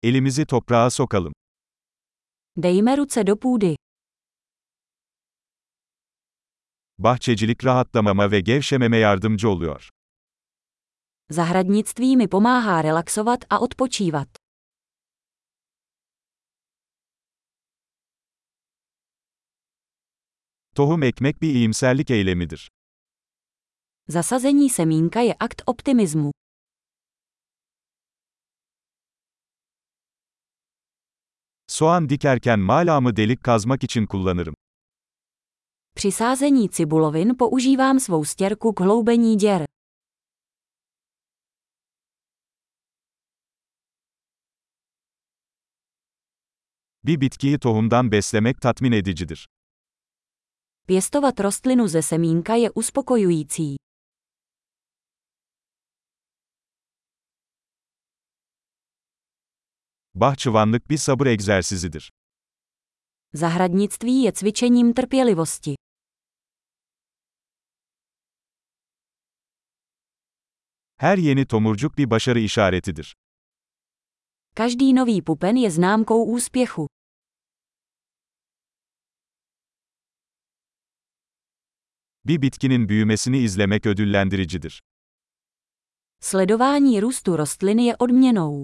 Elimizi toprağa sokalım. Dejme ruce do půdy. Bahçecilik rahatlamama ve gevşememe yardımcı oluyor. Zahradnictví mi pomáhá relaxovat a odpočívat. Tohum ekmek bir iyimserlik eylemidir. Zasazení semínka je akt optimismu. Soğan dikerken malamı delik kazmak için kullanırım. Při sázení cibulovin používám svou stěrku k hloubení děr. Bir bitkiyi tohumdan beslemek tatmin edicidir. Pěstovat rostlinu ze semínka je uspokojující. Bahçıvanlık bir sabır egzersizidir. Zahradnictví je cvičením trpělivosti. Her yeni tomurcuk bir başarı işaretidir. Každý nový pupen je známkou úspěchu. Bir bitkinin büyümesini izlemek ödüllendiricidir. Sledování růstu rostliny je odměnou.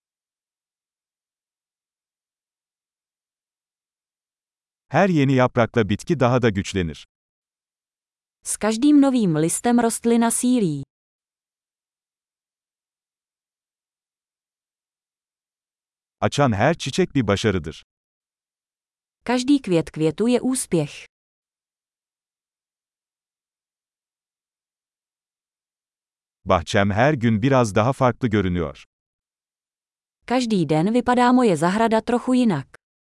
Her yeni yaprakla bitki daha da güçlenir. S každým novým listem rostlina sílí. Açan her çiçek bir başarıdır. Každý květ květu je úspěch. Bahçem her gün biraz daha farklı görünüyor. Každý den vypadá moje zahrada trochu jinak.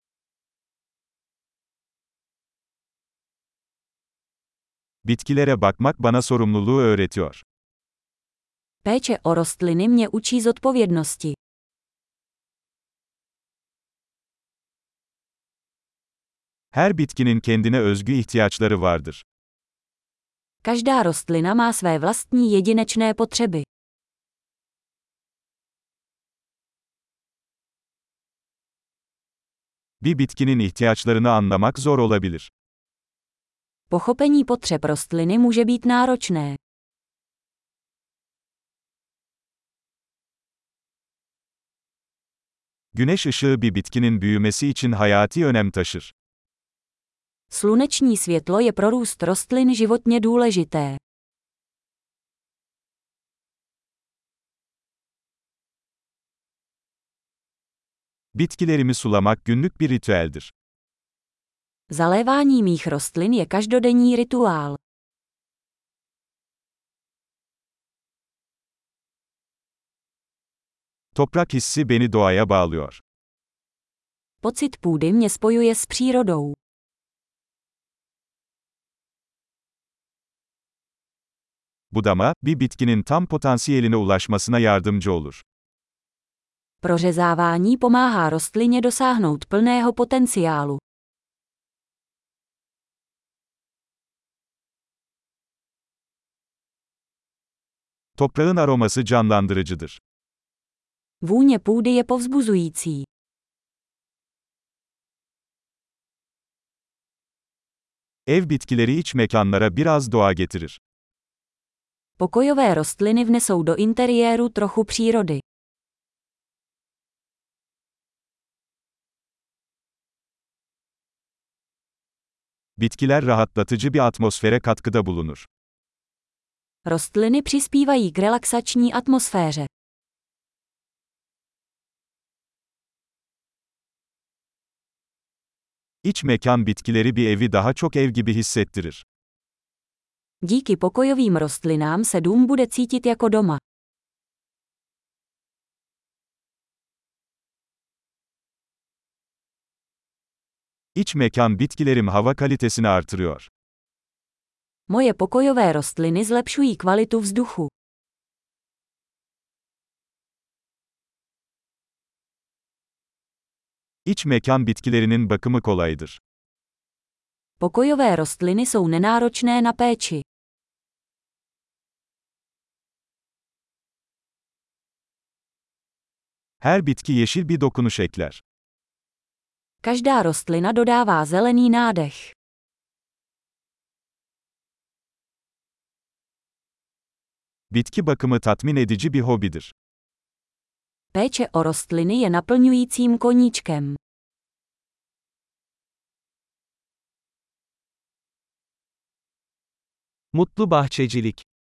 Bitkilere bakmak bana sorumluluğu öğretiyor. Péče o rostliny mě učí zodpovědnosti. Her bitkinin kendine özgü ihtiyaçları vardır. Každá rostlina má své vlastní jedinečné potřeby. Bir bitkinin ihtiyaçlarını anlamak zor olabilir. Pochopení potřeb rostliny může být náročné. Güneş ışığı bir bitkinin büyümesi için hayati önem taşır. Sluneční světlo je pro růst rostlin životně důležité. Bitkilerimi sulamak günlük bir ritüeldir. Zalévání mých rostlin je každodenní rituál. Toprak hissi beni doğaya bağlıyor. Pocit půdy mě spojuje s přírodou. Budama, bir bitkinin tam potansiyeline ulaşmasına yardımcı olur. Prořezávání pomáhá rostlině dosáhnout plného potenciálu. Toprağın aroması canlandırıcıdır. Vůně půdy je povzbuzující. Ev bitkileri iç mekanlara biraz doğa getirir. Pokojové rostliny vnesou do interiéru trochu přírody. Bitkiler rahatlatıcı bir atmosfere katkıda bulunur. Rostliny přispívají k relaxační atmosféře. İç mekan bitkileri bir evi daha çok ev gibi hissettirir. Díky pokojovým rostlinám se dům bude cítit jako doma. İç mekan bitkilerim hava kalitesini artırıyor. Moje pokojové rostliny zlepšují kvalitu vzduchu. İç mekan bitkilerinin bakımı kolaydır. Pokojové rostliny jsou nenáročné na péči. Her bitki yeşil bir dokunuş ekler. Každá rostlina dodává zelený nádech. Bitki bakımı tatmin edici bir hobidir. Péče o rostliny je naplňujícím koníčkem. Mutlu bahçecilik.